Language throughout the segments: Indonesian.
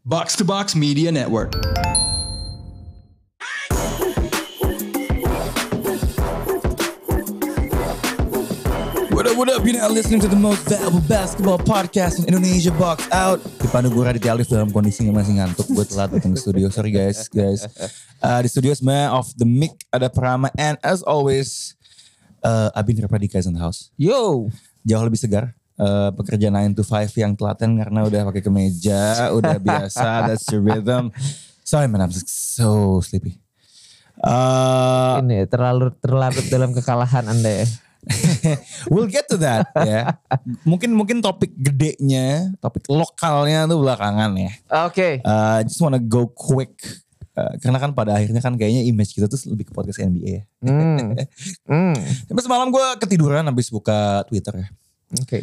Box to Box Media Network. What up? You're now listening to the most valuable basketball podcast in Indonesia, Box Out. Dipandu gue Raditya Alif dalam kondisi yang masih ngantuk. Gue telat datang ke studio. Sorry guys. Di studio sebenarnya off the mic ada Prama. And as always, Abin Rapadika is in the house. Yo. Jauh lebih segar. Pekerja 9 to 5 yang telaten karena udah pakai kemeja. Udah biasa. That's your rhythm. Sorry man, I'm so sleepy. Ini terlalu dalam kekalahan Anda ya. We'll get to that ya. Mungkin topik gedenya, topik lokalnya tuh belakangan ya. Oke. Just wanna go quick. Karena kan pada akhirnya kan kayaknya image kita tuh lebih ke podcast NBA ya. Tapi semalam gue ketiduran habis buka Twitter ya. Oke.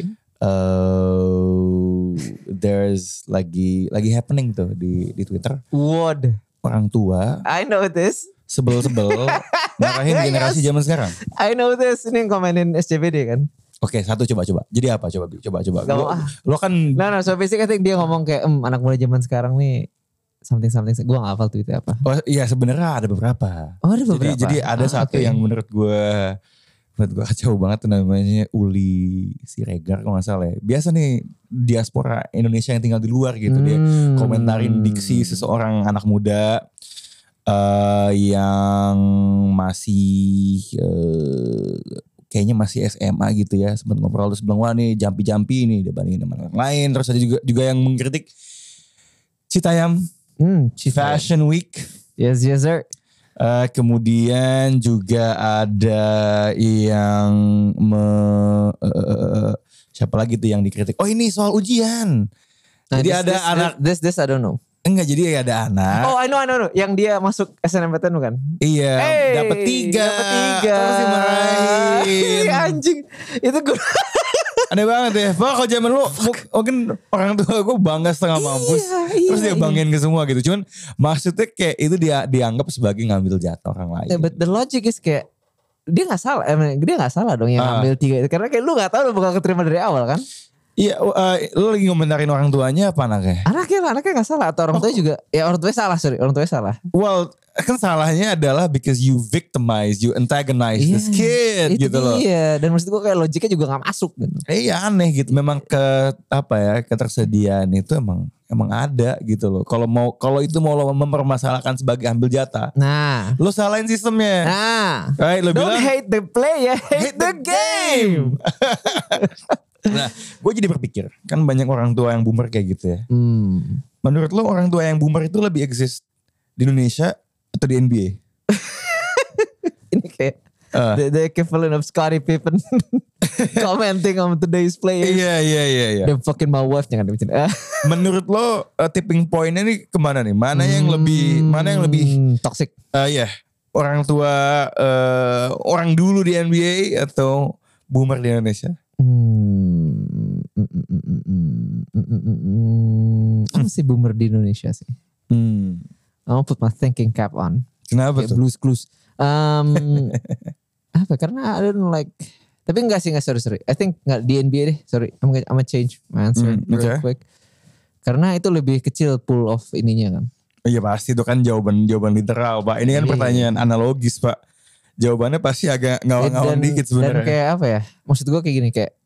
There's lagi happening tuh di Twitter. What? Orang tua. I know this. Sebel-sebel marahin generasi zaman sekarang. I know this. Ini yang komenin SCBD kan. Oke, satu coba. Jadi apa? Coba. Lo kan. No. So basically I think dia ngomong kayak anak muda zaman sekarang nih something. Gue gak hafal tweetnya apa. Oh iya sebenarnya ada beberapa. Oh ada beberapa. Jadi ada satu yang menurut gue kacau banget tuh, namanya Uli Siregar kalau gak salah ya. Biasa nih diaspora Indonesia yang tinggal di luar gitu. Dia komentarin diksi seseorang anak muda. Yang masih kayaknya masih SMA gitu ya. Sempat ngobrol terus bilang, wah nih jampi nih dibandingin dengan yang lain. Terus ada juga yang mengkritik Citayam Fashion Week. Yes sir. Kemudian juga ada yang siapa lagi tuh yang dikritik. Oh ini soal ujian. Nah, jadi ada anak. This I don't know. Enggak, jadi ada anak. Oh I know. Yang dia masuk SNMPTN bukan? Iya, dapat 3. Terus dimarahin. Anjing. Itu gue. Aneh banget ya. Pak kalau zaman lu mungkin orang tua gue bangga setengah mampus. Terus dia banggain ke semua gitu. Cuman maksudnya kayak itu dia dianggap sebagai ngambil jatah orang lain. Yeah, but the logic is kayak dia gak salah. Dia gak salah dong yang ngambil 3 itu. Karena kayak lu gak tahu lu bakal keterima dari awal kan. Iya, lu lagi ngomentarin orang tuanya apa anaknya? Anaknya gak salah. Atau orang tuanya juga. Ya orang tuanya salah, sorry. Orang tuanya salah. Well, kan salahnya adalah because you victimize, you antagonize this kid gitu loh. Iya, dan maksud gue kayak logiknya juga gak masuk gitu. Iya aneh gitu. Memang ketersediaan itu emang ada gitu loh. Kalau itu mau lo mempermasalahkan sebagai ambil jatah. Nah. Lo salahin sistemnya. Nah. Right, lo Don't bilang, hate the play ya, hate the game. Nah, gue jadi berpikir, kan banyak orang tua yang boomer kayak gitu ya. Menurut lo orang tua yang boomer itu lebih exist di Indonesia atau di NBA? Ini kayak the equivalent of Scottie Pippen commenting on today's players. Iya. The fucking my wife jangan demikian. Menurut lo tipping pointnya nih kemana nih? Mana yang lebih toxic? Iya, orang tua orang dulu di NBA atau boomer di Indonesia? Apa sih boomer di Indonesia sih? I'll put my thinking cap on. Kenapa tuh? Blues clues. Apa? Karena I don't like. Tapi enggak, sorry. I think enggak di NBA deh. Sorry, I'm gonna change my answer real quick. Karena itu lebih kecil pool of ininya kan. Iya pasti itu kan jawaban literal Pak. Ini kan pertanyaan analogis Pak. Jawabannya pasti agak ngawang-ngawang dikit sebenarnya. Dan kayak apa ya? Maksud gue kayak gini kayak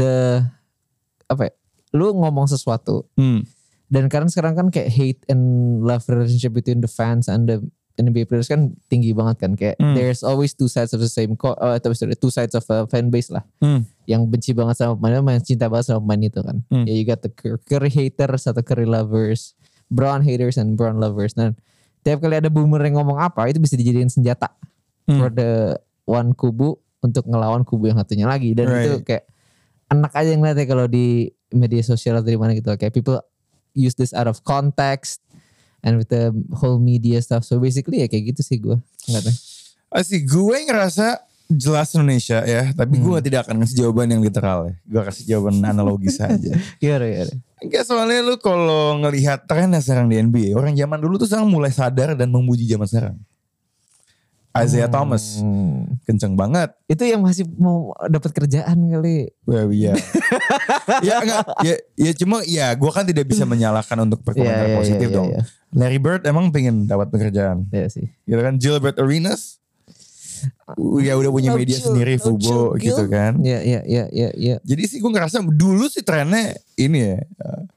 lu ngomong sesuatu. Dan karena sekarang kan kayak hate and love relationship between the fans and the NBA players kan tinggi banget kan. Kayak there's always two sides of the same two sides of a fan base lah. Yang benci banget sama pemain, yang cinta banget sama pemain itu kan. Ya you got the Curry haters atau Curry lovers, Brown haters and Brown lovers. Nah tiap kali ada boomer yang ngomong apa itu bisa dijadiin senjata for the one kubu untuk ngelawan kubu yang satunya lagi. Dan itu kayak enak aja ngeliatnya kalau di media sosial atau di mana gitu. Kayak people use this out of context and with the whole media stuff. So basically ya kayak gitu sih gue. Enggak tahu. Asik, gue ngerasa jelas Indonesia ya. Tapi gue tidak akan ngasih jawaban yang literal ya. Gue kasih jawaban analogis aja. Iya. Enggak, soalnya lu kalau ngelihat tren sekarang di NBA. Orang zaman dulu tuh sekarang mulai sadar dan memuji zaman sekarang. Isaiah Thomas. Kenceng banget. Itu yang masih mau dapat kerjaan kali. Well, iya. Ya enggak. Ya cuma ya gue kan tidak bisa menyalahkan untuk berkomentar positif dong. Larry Bird emang pengen dapat pekerjaan. Iya sih. Gitu kan. Gilbert Arenas. Ya udah punya media sendiri Fubo gitu kan. Iya. Jadi sih gue ngerasa dulu sih trennya ini ya.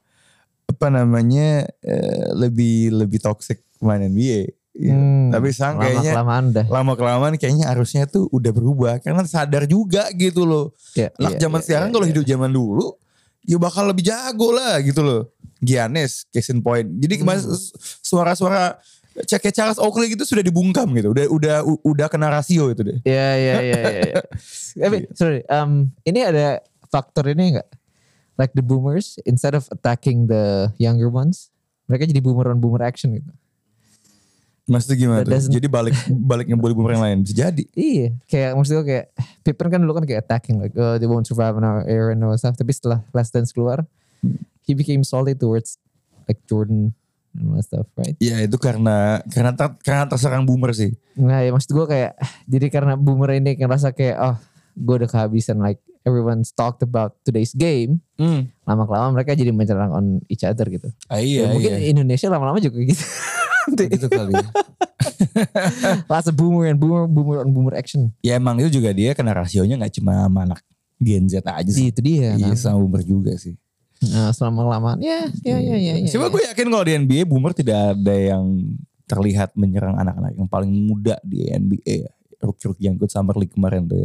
Lebih toxic main NBA. Ya. Tapi sekarang kayaknya lama kelamaan kayaknya harusnya tuh udah berubah karena sadar juga gitu loh. Anak zaman sekarang kalau hidup zaman dulu ya bakal lebih jago lah gitu loh. Giannis case in point. Jadi kemarin suara-suara kayak Charles Oakley gitu sudah dibungkam gitu. Udah kena rasio itu deh. Iya. Tapi sorry, ini ada faktor ini enggak? Like the boomers instead of attacking the younger ones, mereka jadi boomer on boomer action gitu. Maksudnya gimana tuh? Jadi balik ngebully boomer yang lain bisa jadi. Iya, kayak maksud gue kayak Pippen kan dulu kan kayak attacking like they won't survive in our era and all stuff. Tapi setelah Last Dance keluar, he became solid towards like Jordan and all that stuff, right? Iya itu karena terserang boomer sih. Nah ya maksud gue kayak jadi karena boomer ini ngerasa kayak gue udah kehabisan like everyone's talked about today's game. Lama-kelamaan mereka jadi menyerang on each other gitu. Iya. Mungkin Indonesia lama-lama juga gitu. Gitu kali. Lots of boomer on boomer action. Ya emang itu juga dia kena rasionya gak cuma sama anak Gen Z aja sih. Itu dia. Iya sama boomer juga sih. Nah selama-lamaan ya. Coba gue yakin kalau di NBA boomer tidak ada yang terlihat menyerang anak-anak yang paling muda di NBA ya. Rookie yang ikut Summer League kemarin tuh ya.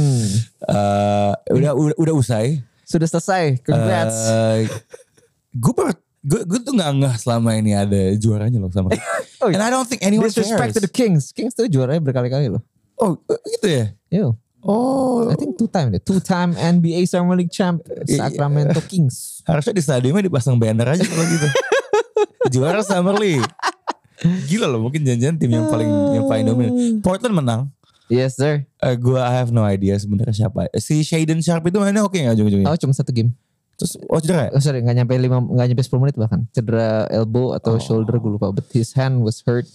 Udah usai. Sudah selesai. Congrats. Gue tuh gak ngeh selama ini ada juaranya loh Summer League. And I don't think anyone disrespect cares. to the Kings. Kings tuh juaranya berkali-kali loh. Oh gitu ya? Yo. Oh. I think two-time NBA Summer League champ Sacramento Kings. Harusnya di stadionnya dipasang banner aja kalau gitu. Juara Summer League. Gila loh, mungkin jangan-jangan tim yang paling dominan. Portland menang. Yes sir. I have no idea sebenarnya siapa. Si Shaedon Sharp itu mainnya oke nggak ujung-ujungnya? Oh cuma satu game. Terus cedera ya? Sorry nggak nyampe 10 menit bahkan. Cedera elbow atau shoulder gue lupa. But his hand was hurt.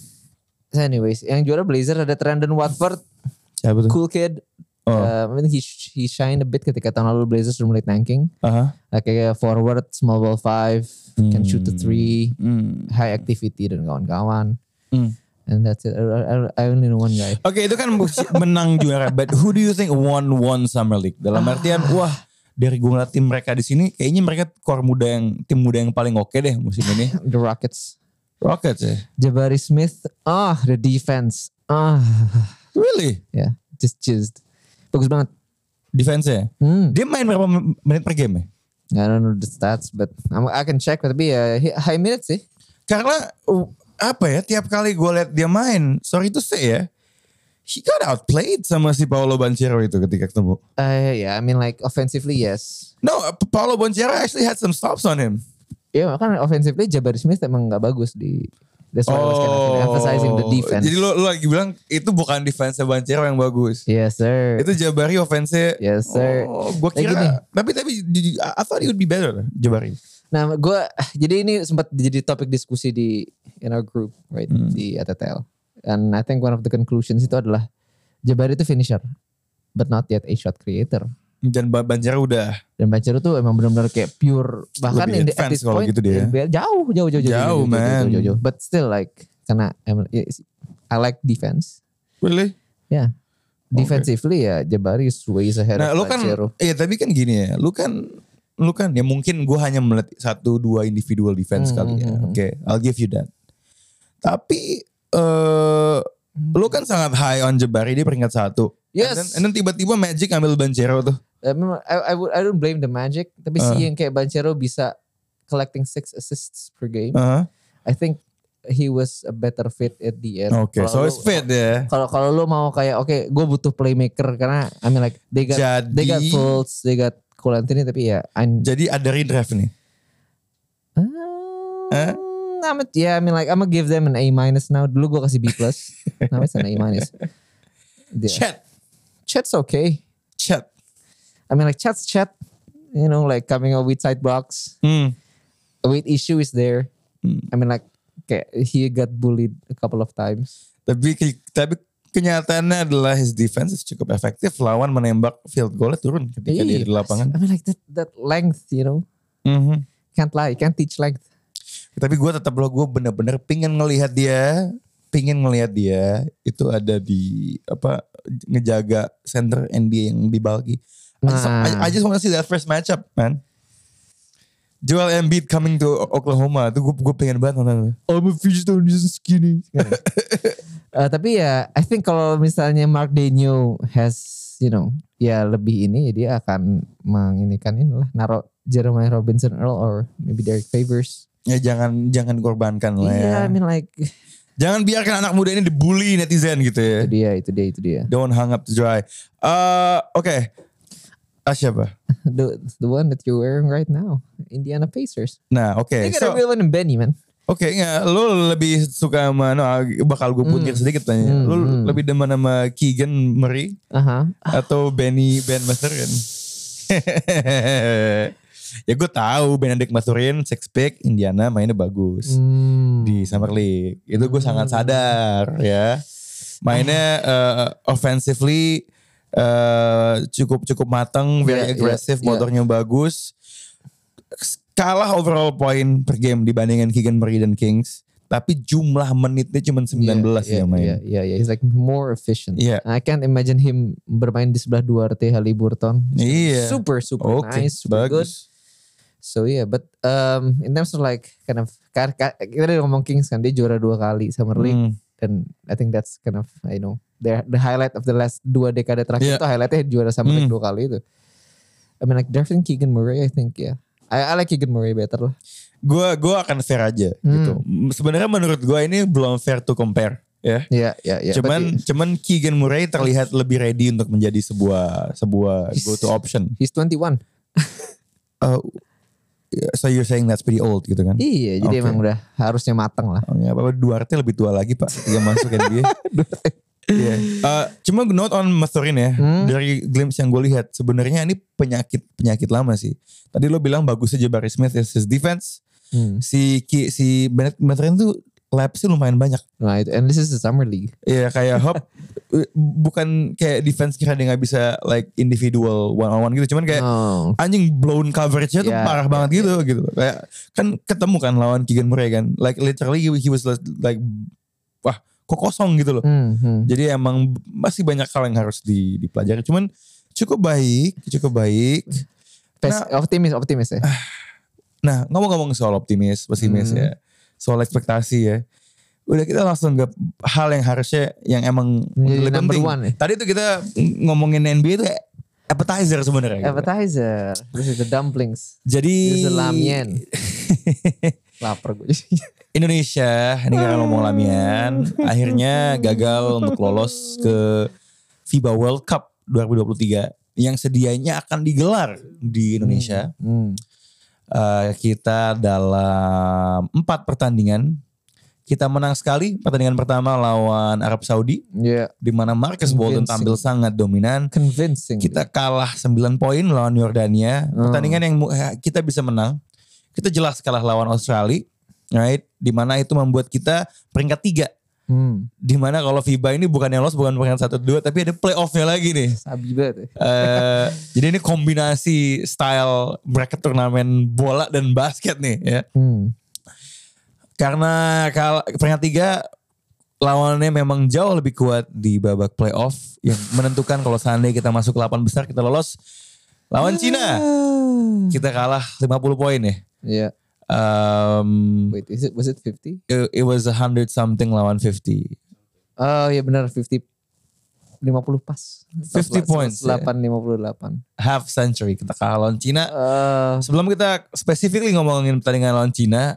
So anyways, yang juara Blazer ada Trendon Watford. Siapa tuh? Cool kid. I mean he shined a bit ketika tahun lalu Blazers sudah mulai tanking. Kayak forward, small ball 5, can shoot the 3, high activity dan kawan-kawan. And that's it. I only know one guy. Oke, itu kan menang juara. But who do you think won Summer League? Dalam artian, wah dari gue ngeliat tim mereka di sini, kayaknya mereka tim muda yang paling oke deh musim ini. The Rockets ya. Jabari Smith. The defense. Really? Yeah, just jizzed. Bagus banget. Defense-nya? Dia main berapa menit per game ya? I don't know the stats, but I can check. Tapi ya high minutes sih. Karena apa ya, tiap kali gue liat dia main, sorry to say ya, he got outplayed sama si Paolo Banchero itu ketika ketemu. Yeah, I mean like offensively yes. No, Paolo Banchero actually had some stops on him. Iya, kan offensively Jabari Smith emang gak bagus di. That's why I was kind of emphasizing the defense. Jadi lo lagi bilang itu bukan defense Banchero yang bagus. Yes sir. Itu Jabari offense. Yes sir. Gue kira. Tapi I thought he would be better Jabari. Nah jadi ini sempat jadi topik diskusi in our group right di ATTL. And I think one of the conclusions itu adalah Jabari itu finisher, but not yet a shot creator. Dan Banchero tuh emang benar-benar kayak pure, bahkan at this point gitu dia. Jauh man. But still like karena I like defense. Really? Yeah. Defensively ya Jabari is ways ahead of Banchero. Iya tapi kan gini ya, lu kan ya mungkin gue hanya melihat 1-2 individual defense kali ya. Oke, I'll give you that. Tapi lu kan sangat high on Jabari, dia peringkat 1. Yes. And then tiba-tiba Magic ambil Banchero tuh. I don't blame the Magic, tapi yang kayak Banchero bisa collecting 6 assists per game. I think he was a better fit at the end. Okay, so it's fit ya. Kalau lu mau kayak gue butuh playmaker karena I mean like they got Fultz, they got Cole Anthony tapi ya. Jadi ada redraft nih. I mean like I'm gonna give them an A- now. Dulu gue kasih B+. Now it's an A-. Chet's okay. I mean like Chet's Chet. You know like coming out with side blocks. Weight issue is there. I mean like kayak he got bullied a couple of times. Tapi kenyataannya adalah his defense cukup efektif lawan menembak field goal turun ketika dia di lapangan. I mean like that length, you know. Can't lie, can't teach length. Tapi gue tetap gue bener-bener pengen ngelihat dia itu ada di ngejaga center NBA yang di Balki. I just want to see that first matchup, man. Joel Embiid coming to Oklahoma tuh gue pengen banget nonton. I'm a fish stone just skinny. Tapi ya I think kalau misalnya Mark Daigneault has ya lebih ini dia akan menginikan inilah naruh Jeremiah Robinson Earl or maybe Derek Favors. Ya jangan korbankan lah ya. Yeah, I mean like jangan biarkan anak muda ini dibully netizen gitu ya. Itu dia. Don't hang up to dry. Okay. Siapa? The one that you're wearing right now, Indiana Pacers. Nah, oke. They got a real one in Benny, man. Oke, lu lebih suka sama bakal gue puntir sedikit tanya. Lu lebih demen sama Keegan Murray atau Ben Mathurin? Ya gue tahu Benedict Mathurin six pick Indiana mainnya bagus di Summer League. Itu gue sangat sadar ya. Mainnya offensively cukup matang, very aggressive, motornya bagus. Kalah overall point per game dibandingkan Keegan Murray dan Kings. Tapi jumlah menitnya cuma 19 ya main. Iya. He's like more efficient. Yeah. I can't imagine him bermain di sebelah Duarte Haliburton. Iya. Super nice, super good. So yeah, but in terms of like kind of kita udah ngomong Kings kan dia juara 2 kali Summer League. Dan I think that's kind of the highlight of the last 2 dekade terakhir itu highlightnya juara Summer League 2 kali itu. I mean like drafting Keegan Murray I think I like Keegan Murray better lah. Gue akan fair aja gitu. Sebenarnya menurut gue ini belum fair to compare ya. Iya. Cuman Keegan Murray terlihat lebih ready untuk menjadi sebuah go to option. He's 21. So you're saying that's pretty old gitu kan? Iya, jadi emang udah harusnya matang lah. Apa Duarte lebih tua lagi Pak ketika masuk NBA. Cuma note on Mathurin ya, dari glimpse yang gue lihat sebenarnya ini penyakit lama sih. Tadi lo bilang bagusnya Jabari Smith his defense. Si Bennett Mathurin tuh lapsnya lumayan banyak. Nah itu, and this is the Summer League. Iya kayak Hop bukan kayak defense kira dia gak bisa like individual one on one gitu. Cuman kayak anjing blown coverage-nya tuh parah banget gitu. Kayak kan ketemu kan lawan Keegan Murray kan. Like literally he was like wah kok kosong gitu loh. Jadi emang masih banyak hal yang harus dipelajari. Cuman cukup baik. Optimis ya. Nah ngomong-ngomong soal pesimis ya. Soal ekspektasi ya. Udah kita langsung ke hal yang harusnya yang emang lebih penting. Tadi tuh kita ngomongin NBA itu appetizer sebenarnya. Appetizer. This is the dumplings. Jadi. This is the lamien. Lapar gue. Indonesia, ini kan ngomong lamian. Akhirnya gagal untuk lolos ke FIBA World Cup 2023. Yang sedianya akan digelar di Indonesia. Kita dalam 4 pertandingan kita menang sekali. Pertandingan pertama lawan Arab Saudi, di mana Marcus Bolden tampil sangat dominan. Convincing. Kita kalah 9 poin lawan Yordania. Pertandingan yang kita bisa menang. Kita jelas kalah lawan Australia, right? Di mana itu membuat kita peringkat 3. Di mana kalau FIBA ini bukan yang lolos, bukan peringkat 1-2, tapi ada playoffnya lagi nih. Sabi banget. Jadi ini kombinasi style bracket turnamen bola dan basket nih ya. Karena peringkat 3 lawannya memang jauh lebih kuat di babak playoff yang menentukan kalau seandainya kita masuk ke 8 besar kita lolos. Lawan Cina kita kalah 50 poin ya. Iya. Wait, was it 50? It was 100 something lawan 50. Oh iya benar 50 pas. 50 points. 58. Half century kita kalah lawan Cina. Sebelum kita specifically ngomongin pertandingan lawan Cina,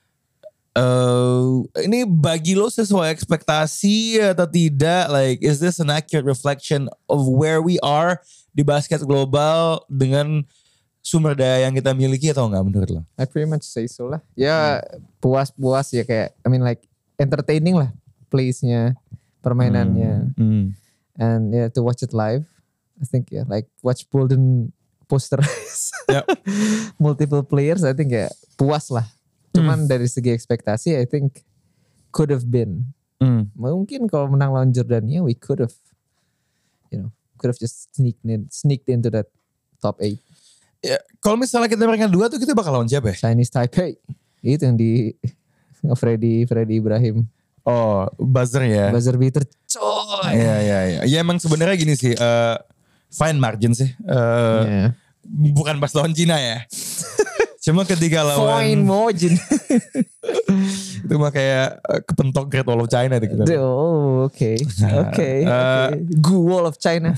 ini bagi lo sesuai ekspektasi atau tidak? Like, is this an accurate reflection of where we are di basket global dengan sumber daya yang kita miliki atau enggak menurut lo? I pretty much say so lah. Ya puas ya kayak, I mean like entertaining lah plays-nya, permainannya. And yeah, to watch it live, I think like watch Bolden posterize multiple players, I think puas lah. Cuman dari segi ekspektasi, I think could have been Mungkin kalau menang lawan Jordania, we could have just sneaked into that top 8. Ya, kalau misalnya kita peringkat 2 tuh kita bakal lawan siapa ya? Chinese Taipei. Itu yang di Freddy Ibrahim. Oh, buzzer ya. Buzzer beater. Coy. Iya. Ya emang sebenarnya gini sih, fine margin sih. Bukan pas lawan Cina ya. Cuma ketika lawan fine margin. itu mah kayak kepentok Great Wall of China gitu. Oh, oke. Good Wall of China.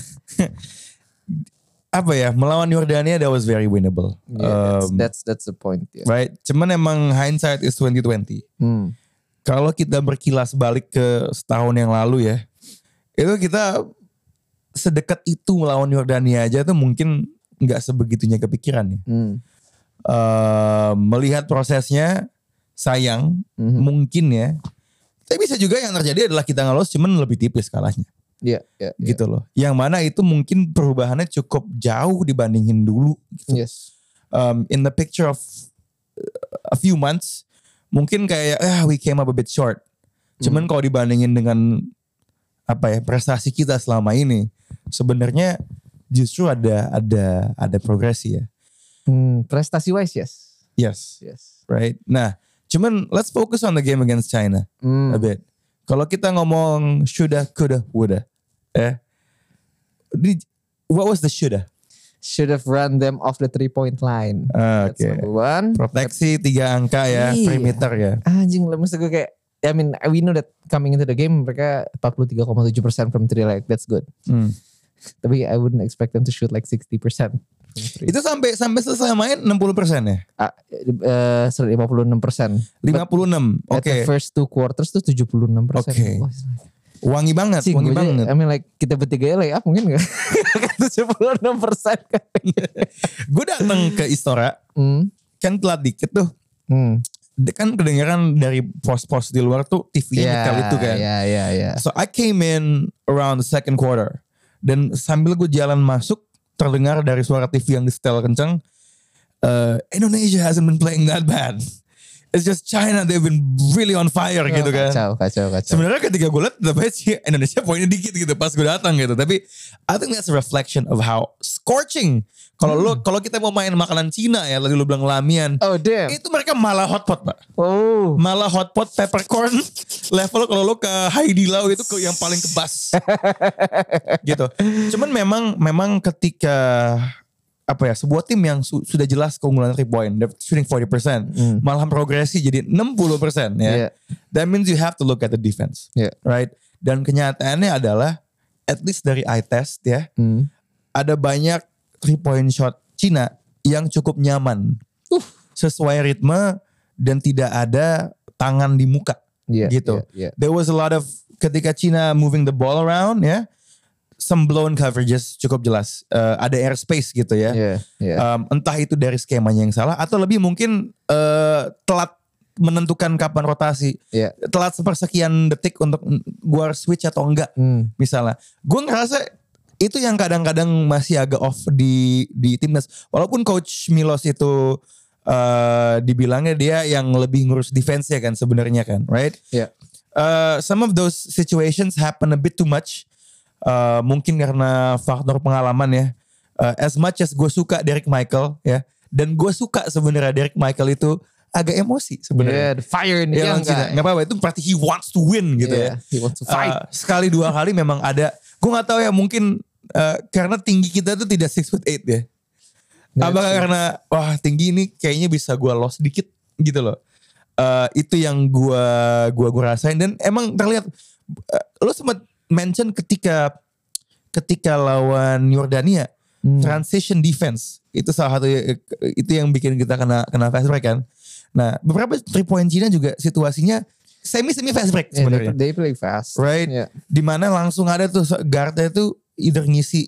Apa ya, melawan Yordania that was very winnable. Yeah, that's the point. Yeah. Right. Cuman emang hindsight is 2020. Kalau kita berkilas balik ke setahun yang lalu ya, itu kita sedekat itu melawan Yordania aja tuh mungkin nggak sebegitunya kepikiran ya. Melihat prosesnya sayang mungkin ya. Tapi bisa juga yang terjadi adalah kita ngelos cuman lebih tipis kalahnya. Iya. Gitu loh. Yang mana itu mungkin perubahannya cukup jauh dibandingin dulu. Gitu. Yes. In the picture of a few months, mungkin kayak we came up a bit short. Cuman kalau dibandingin dengan prestasi kita selama ini, sebenarnya justru ada progresi ya. Prestasi wise, yes. Right. Nah, cuman let's focus on the game against China a bit. Kalau kita ngomong shoulda, coulda, woulda. What was the shoulda? Should have run them off the 3-point line. That's number one. Proteksi 3 angka ya, perimeter ya. Anjing, maksud gue kayak, I mean, we know that coming into the game mereka 43,7% from 3, like that's good. Tapi I wouldn't expect them to shoot like 60%. Itu sampai selesai main 60% ya? 56%. 56, oke. At the first 2 quarters tuh 76%. Oke. Wangi banget, wangi banget. I mean like kita bertiga lay up mungkin gak? 76% kan. Gue datang ke Istora, kan telat dikit tuh. Kan kedengeran dari pos-pos di luar tuh TV-nya nyetel itu kan. Iya. So I came in around the second quarter. Dan sambil gue jalan masuk, terdengar dari suara TV yang disetel kenceng, Indonesia hasn't been playing that bad. It's just China, they've been really on fire gitu kan. Kacau. Sebenarnya ketika gue liat, tapi Indonesia poinnya dikit gitu pas gue datang gitu. Tapi I think that's a reflection of how scorching. Kalau kita mau main makanan Cina ya, lagi lu bilang lamian. Oh damn. Itu mereka malah hotpot pak. Oh. Malah hotpot peppercorn level kalau lu ke Haidi Lau itu ke yang paling kebas. Gitu. Cuman memang ketika sebuah tim yang sudah jelas keunggulan 3 point, they're shooting 40%, malah progresi jadi 60% ya. That means you have to look at the defense, right? Dan kenyataannya adalah, at least dari eye test ya, ada banyak 3 point shot Cina yang cukup nyaman, sesuai ritme dan tidak ada tangan di muka, gitu. There was a lot of ketika Cina moving the ball around ya. Some blown coverages cukup jelas. Ada airspace gitu ya. Entah itu dari skemanya yang salah atau lebih mungkin telat menentukan kapan rotasi. Telat sepersekian detik untuk gua switch atau enggak. Misalnya. Gue ngerasa itu yang kadang-kadang masih agak off di timnas. Walaupun Coach Milos itu dibilangnya dia yang lebih ngurus defense ya kan sebenarnya kan. Right? Some of those situations happen a bit too much. Mungkin karena faktor pengalaman ya. As much as gue suka Derek Michael ya, dan gue suka sebenarnya Derek Michael itu agak emosi sebenarnya. The fire in the young guy. Nggak apa-apa, itu berarti he wants to win gitu ya. He wants to fight. Sekali 2 kali memang ada. Gue nggak tahu ya, mungkin karena tinggi kita tuh tidak 6'8" ya. Apakah karena wah tinggi ini kayaknya bisa gue loss dikit gitu loh. Itu yang gue rasain dan emang terlihat. Lo sempat mention ketika lawan Yordania, transition defense itu salah satu itu yang bikin kita kena fast break kan. Nah beberapa 3 point Cina juga situasinya semi fast break sebenarnya. They play fast, right? Dimana langsung ada tuh guardnya tuh either ngisi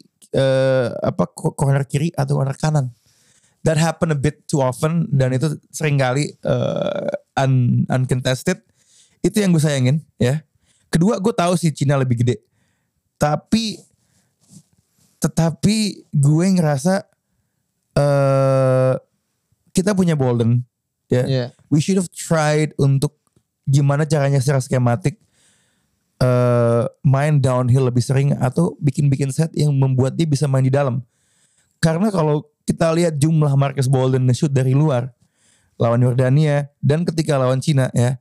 corner kiri atau corner kanan. That happen a bit too often dan itu sering kali uncontested. Itu yang gue sayangin ya. Kedua, gue tahu sih Cina lebih gede. Tetapi gue ngerasa kita punya Bolden. Ya. We should have tried untuk gimana caranya secara skematik main downhill lebih sering atau bikin set yang membuat dia bisa main di dalam. Karena kalau kita lihat jumlah Marcus Bolden nge-shoot dari luar lawan Yordania dan ketika lawan Cina ya,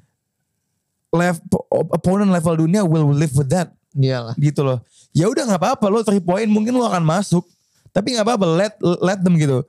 opponent level dunia will live with that. Iyalah. Gitu loh. Ya udah nggak apa-apa lo 3 point mungkin lo akan masuk, tapi nggak apa-apa let them gitu.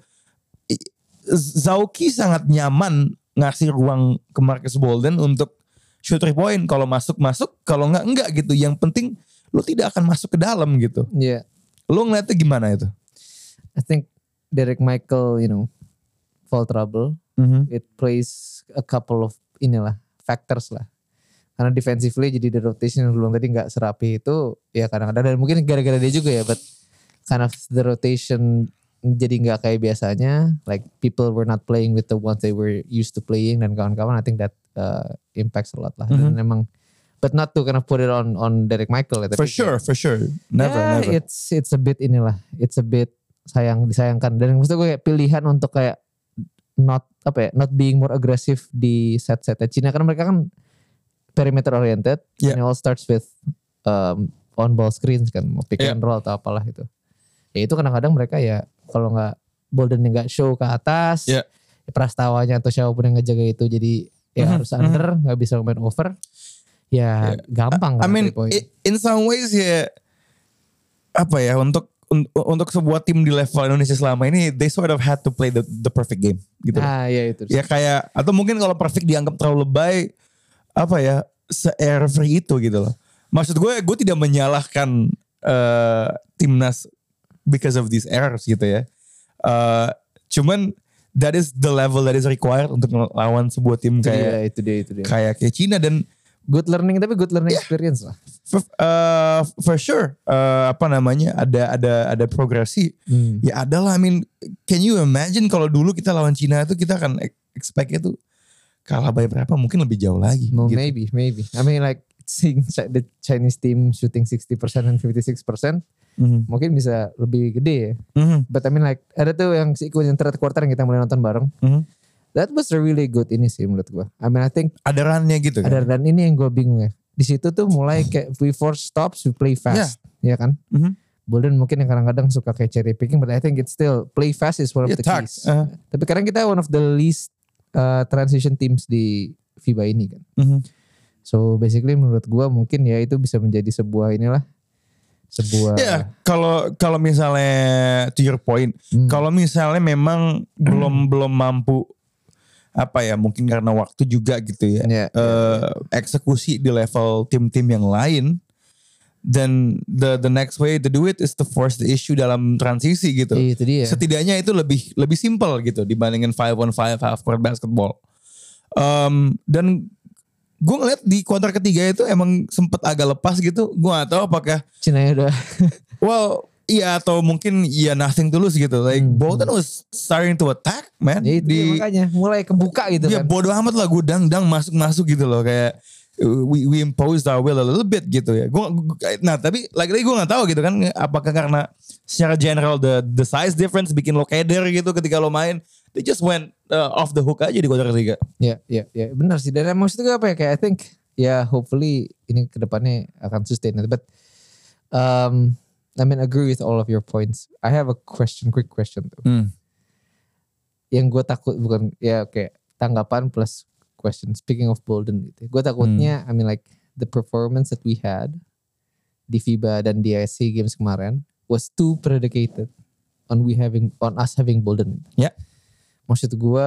Zauki sangat nyaman ngasih ruang ke Marcus Bolden untuk shoot 3 point. Kalau masuk, kalau enggak gitu. Yang penting lo tidak akan masuk ke dalam gitu. Iya. Lo ngeliatnya gimana itu? I think Derek Michael, fall trouble. It plays a couple of factors lah. Karena defensively jadi the rotation yang belum tadi nggak serapi itu ya kadang-kadang dan mungkin gara-gara dia juga ya, but kind of the rotation jadi nggak kayak biasanya. Like people were not playing with the ones they were used to playing dan kawan-kawan. I think that impacts a lot lah. Dan emang, but not to kind of put it on Derek Michael. Ya, for sure. Never. It's a bit it's a bit disayangkan. Dan maksud gue kayak pilihan untuk kayak not being more aggressive di set-setnya Cina karena mereka kan perimeter oriented. And it all starts with on ball screens kan, mau pick and roll atau apalah itu. Ya itu kadang-kadang mereka ya kalau nggak Bolden nggak show ke atas, Prastawanya atau siapapun yang ngejaga itu jadi harus under, nggak bisa main over. Ya gampang kan. I mean in some ways ya apa ya untuk sebuah tim di level Indonesia selama ini they sort of had to play the perfect game gitu. Ya itu. Ya kayak atau mungkin kalau perfect dianggap terlalu lebay apa ya se-error free itu gitu loh. Maksud gue tidak menyalahkan timnas because of these errors gitu ya. Cuman that is the level that is required untuk melawan sebuah tim kayak itu dia. Kayak Cina dan good learning experience lah. For sure ada progresi. Ya ada lah. I mean can you imagine kalau dulu kita lawan Cina itu kita akan expect itu kalah by berapa, mungkin lebih jauh lagi. Well, gitu. maybe. I mean like seeing the Chinese team shooting 60% and 56%, mungkin bisa lebih gede ya. But I mean like ada tuh yang third quarter yang kita mulai nonton bareng. That was a really good ini sih menurut gue. I mean I think ada run-nya gitu kan. Ada run ini yang gue bingung ya. Di situ tuh mulai kayak we force stops, we play fast. Ya kan? Bolden mungkin yang kadang-kadang suka kayak cherry picking, but I think it's still play fast is one of the keys. Tapi kadang kita one of the least transition teams di FIBA ini kan. So basically menurut gue mungkin ya itu bisa menjadi sebuah kalau misalnya to your point, kalau misalnya memang belum mampu apa ya mungkin karena waktu juga gitu ya eksekusi di level tim-tim yang lain, then the next way to do it is to force the issue dalam transisi gitu. Itu dia. Setidaknya itu lebih simple gitu dibandingin 5-on-5 half court basketball. Dan gue ngeliat di kuarter ketiga itu emang sempet agak lepas gitu. Gue gak tahu apakah Cina udah iya atau mungkin nothing to lose gitu. Like Bolton was starting to attack man. Ya itu makanya mulai kebuka gitu kan. Bodo amat lah gue dang masuk gitu loh. Kayak we imposed our will a little bit gitu ya. Tapi lagi-lagi gue gak tahu gitu kan. Apakah karena secara general the size difference bikin lo keder gitu ketika lo main. They just went off the hook aja di kuarter ketiga. Ya benar sih. Dan maksud gue apa ya kayak I think hopefully ini kedepannya akan sustain. But I mean agree with all of your points. I have a quick question tuh. Yang gue takut bukan kayak tanggapan plus question. Speaking of Bolden gitu. Gue takutnya I mean like the performance that we had di FIBA dan di SEA Games kemarin was too predicated on us having Bolden. Ya. Maksud gue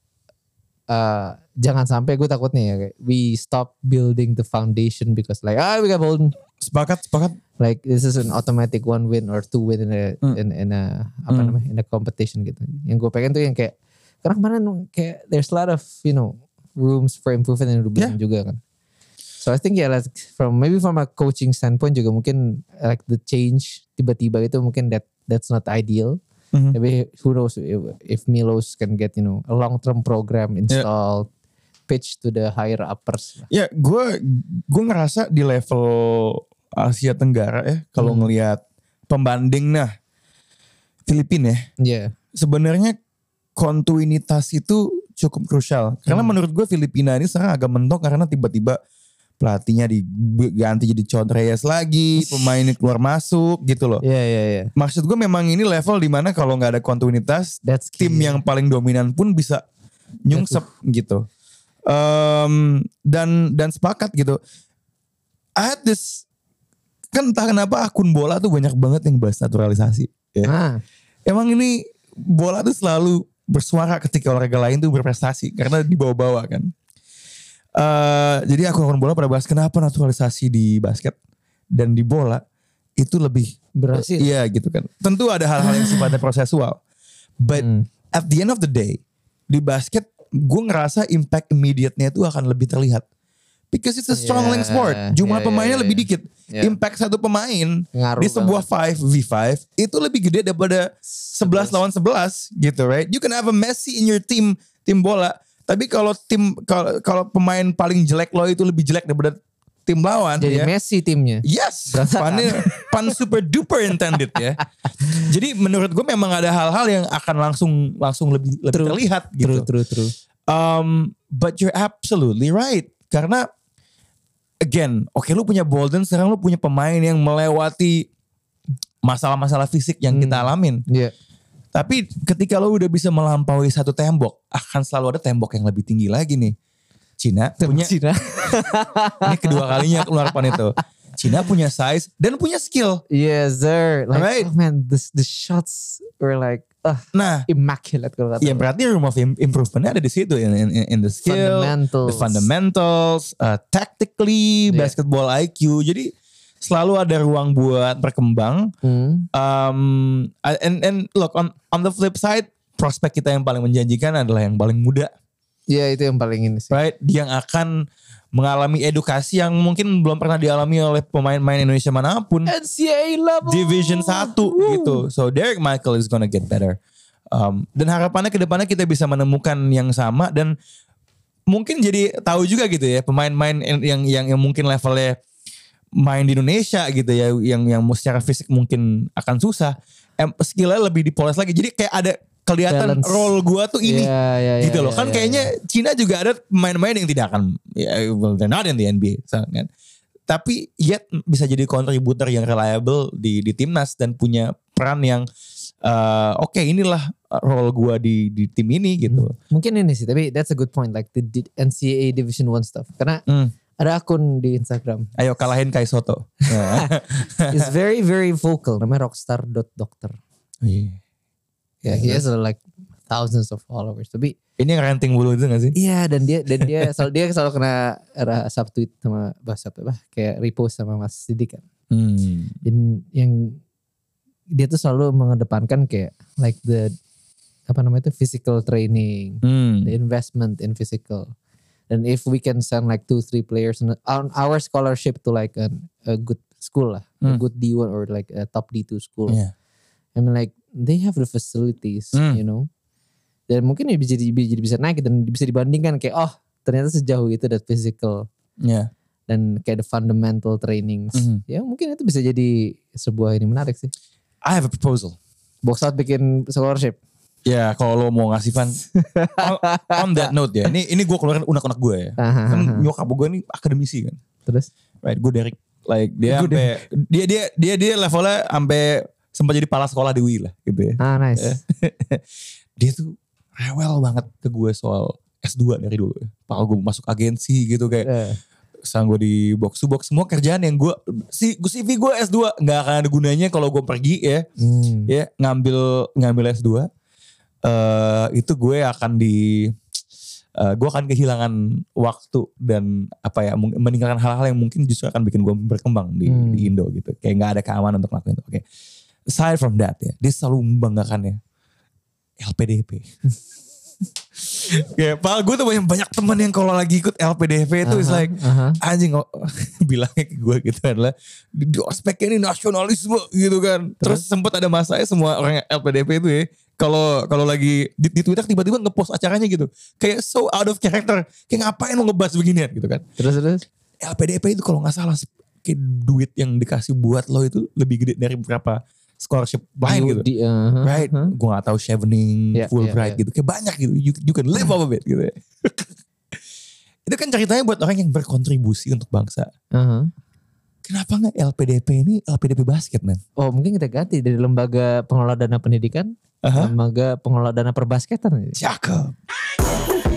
jangan sampai gue takutnya ya kayak we stop building the foundation because like we got Bolden. Sepakat. Like this is an automatic 1 win or 2 win in a competition gitu. Yang gue pengen tuh yang kayak karena kemarin kayak there's a lot of rooms for improvement yang udah bilang juga kan. So I think like from a coaching standpoint juga mungkin like the change tiba-tiba itu mungkin that's not ideal. Tapi who knows if Milos can get a long-term program installed, pitch to the higher uppers. Ya, gue ngerasa di level Asia Tenggara ya, kalau ngelihat pembanding Filipina ya. Sebenarnya kontinuitas itu cukup krusial. Karena menurut gue Filipina ini sekarang agak mentok karena tiba-tiba pelatihnya diganti jadi John Reyes lagi, pemainnya keluar masuk gitu loh. Iya. Maksud gue memang ini level dimana kalau nggak ada kontinuitas, That's key. tim yang paling dominan pun bisa nyungsep gitu. Dan sepakat gitu. I had this, kan entah kenapa akun bola tuh banyak banget yang bahas naturalisasi. Ya. Emang ini bola tuh selalu bersuara ketika olahraga lain tuh berprestasi karena dibawa-bawa kan. Jadi akun bola pada bahas kenapa naturalisasi di basket dan di bola itu lebih berhasil. Iya gitu kan. Tentu ada hal-hal yang sifatnya prosesual. But at the end of the day, di basket gue ngerasa impact immediate-nya itu akan lebih terlihat. Because it's a strong link sport. Jumlah pemainnya lebih dikit. Impact satu pemain ngaruh di sebuah 5v5 itu lebih gede daripada 11 lawan 11 gitu, right? You can have a Messi in your tim bola. Tapi kalau kalau pemain paling jelek lo itu lebih jelek daripada tim lawan, jadi ya. Messi timnya. Yes, pun super duper intended ya. Jadi menurut gue memang ada hal-hal yang akan langsung lebih terlihat gitu. True. But you're absolutely right. Karena again, oke, lu punya Bolden, sekarang lu punya pemain yang melewati masalah-masalah fisik yang kita alamin. Iya. Tapi ketika lo udah bisa melampaui satu tembok, akan selalu ada tembok yang lebih tinggi lagi nih. Cina. Ini kedua kalinya keluar pan itu. Cina punya size dan punya skill. Yes sir. Like, right? oh man, the shots were like immaculate kalau kata. Iya, berarti room of improvementnya ada di situ, in the skill, the fundamentals, tactically, basketball IQ. Jadi selalu ada ruang buat berkembang. And look, on the flip side, prospek kita yang paling menjanjikan adalah yang paling muda. Iya, itu yang paling ini sih. Right? Dia yang akan mengalami edukasi yang mungkin belum pernah dialami oleh pemain-pemain Indonesia manapun. NCAA level. Division 1 gitu. So Derek Michael is gonna get better. Dan harapannya ke depannya kita bisa menemukan yang sama dan mungkin jadi tahu juga gitu ya pemain-pemain yang mungkin levelnya main di Indonesia gitu ya yang secara fisik mungkin akan susah, skillnya lebih dipoles lagi, jadi kayak ada kelihatan balance. Role gua tuh ini gitu loh kan kayaknya Cina juga ada pemain-pemain yang tidak akan they're not in the NBA kan, tapi yet bisa jadi kontributor yang reliable di timnas dan punya peran yang oke, inilah role gua di tim ini gitu. Mungkin ini sih, tapi that's a good point, like the NCAA Division 1 stuff karena ada akun di Instagram. Ayo kalahin Kai Soto. It's very very vocal. Namanya rockstar.doctor. Yeah, he has like thousands of followers. Tapi ini yang ranting bulu itu gak sih? Iya, dan dia selalu kena subtweet sama kayak repost sama Mas Sidik kan. Dan yang dia tuh selalu mengedepankan kayak like the physical training, the investment in physical. And if we can send like 2-3 players on our scholarship to like a good school lah, a good D1 or like a top D2 school. Yeah. I mean like they have the facilities, you know. Dan mungkin jadi bisa naik dan bisa dibandingkan kayak ternyata sejauh itu that physical. Yeah. Dan kayak the fundamental trainings. Ya mungkin itu bisa jadi sebuah ini menarik sih. I have a proposal. Box Out bikin scholarship. Ya kalau lo mau ngasih Van on that note ya. Ini gue keluarin unek-unek gue ya. Kan nyokap gue ini akademisi kan. Terus? Right, gue Derek like dia sampai dia levelnya sampai sempat jadi kepala sekolah di UI lah gitu ya. Nice. Dia tuh rewel banget ke gue soal S2 dari dulu. Kalau gue masuk agensi gitu kayak sang gue di box to box semua kerjaan yang gue CV gue S2 nggak akan ada gunanya kalau gue pergi ya. Ya ngambil S2. Itu gue akan gue akan kehilangan waktu dan meninggalkan hal-hal yang mungkin justru akan bikin gue berkembang di Indo gitu. Kayak nggak ada keamanan untuk ngelakuin itu. Oke. Aside from that ya, dia selalu membanggakannya LPDP. Kayak gue tuh banyak teman yang kalau lagi ikut LPDP itu is like anjing bilangnya ke gue gitu adalah di ospeknya ini nasionalisme gitu kan. Terus sempat ada masanya semua orang LPDP itu ya kalau lagi di Twitter tiba-tiba ngepost acaranya gitu. Kayak so out of character. Kayak ngapain lo ngebahas beginian gitu kan. Terus LPDP itu kalau gak salah kayak duit yang dikasih buat lo itu lebih gede dari berapa scholarship lain gitu. Right? Gue gak tahu Chevening, Fulbright gitu. Kayak banyak gitu. You can live off of it gitu ya. Itu kan ceritanya buat orang yang berkontribusi untuk bangsa. Uh-huh. Kenapa nggak LPDP ini LPDP basket, man? Oh mungkin kita ganti dari lembaga pengelola dana pendidikan, lembaga pengelola dana perbasketan. Cakep.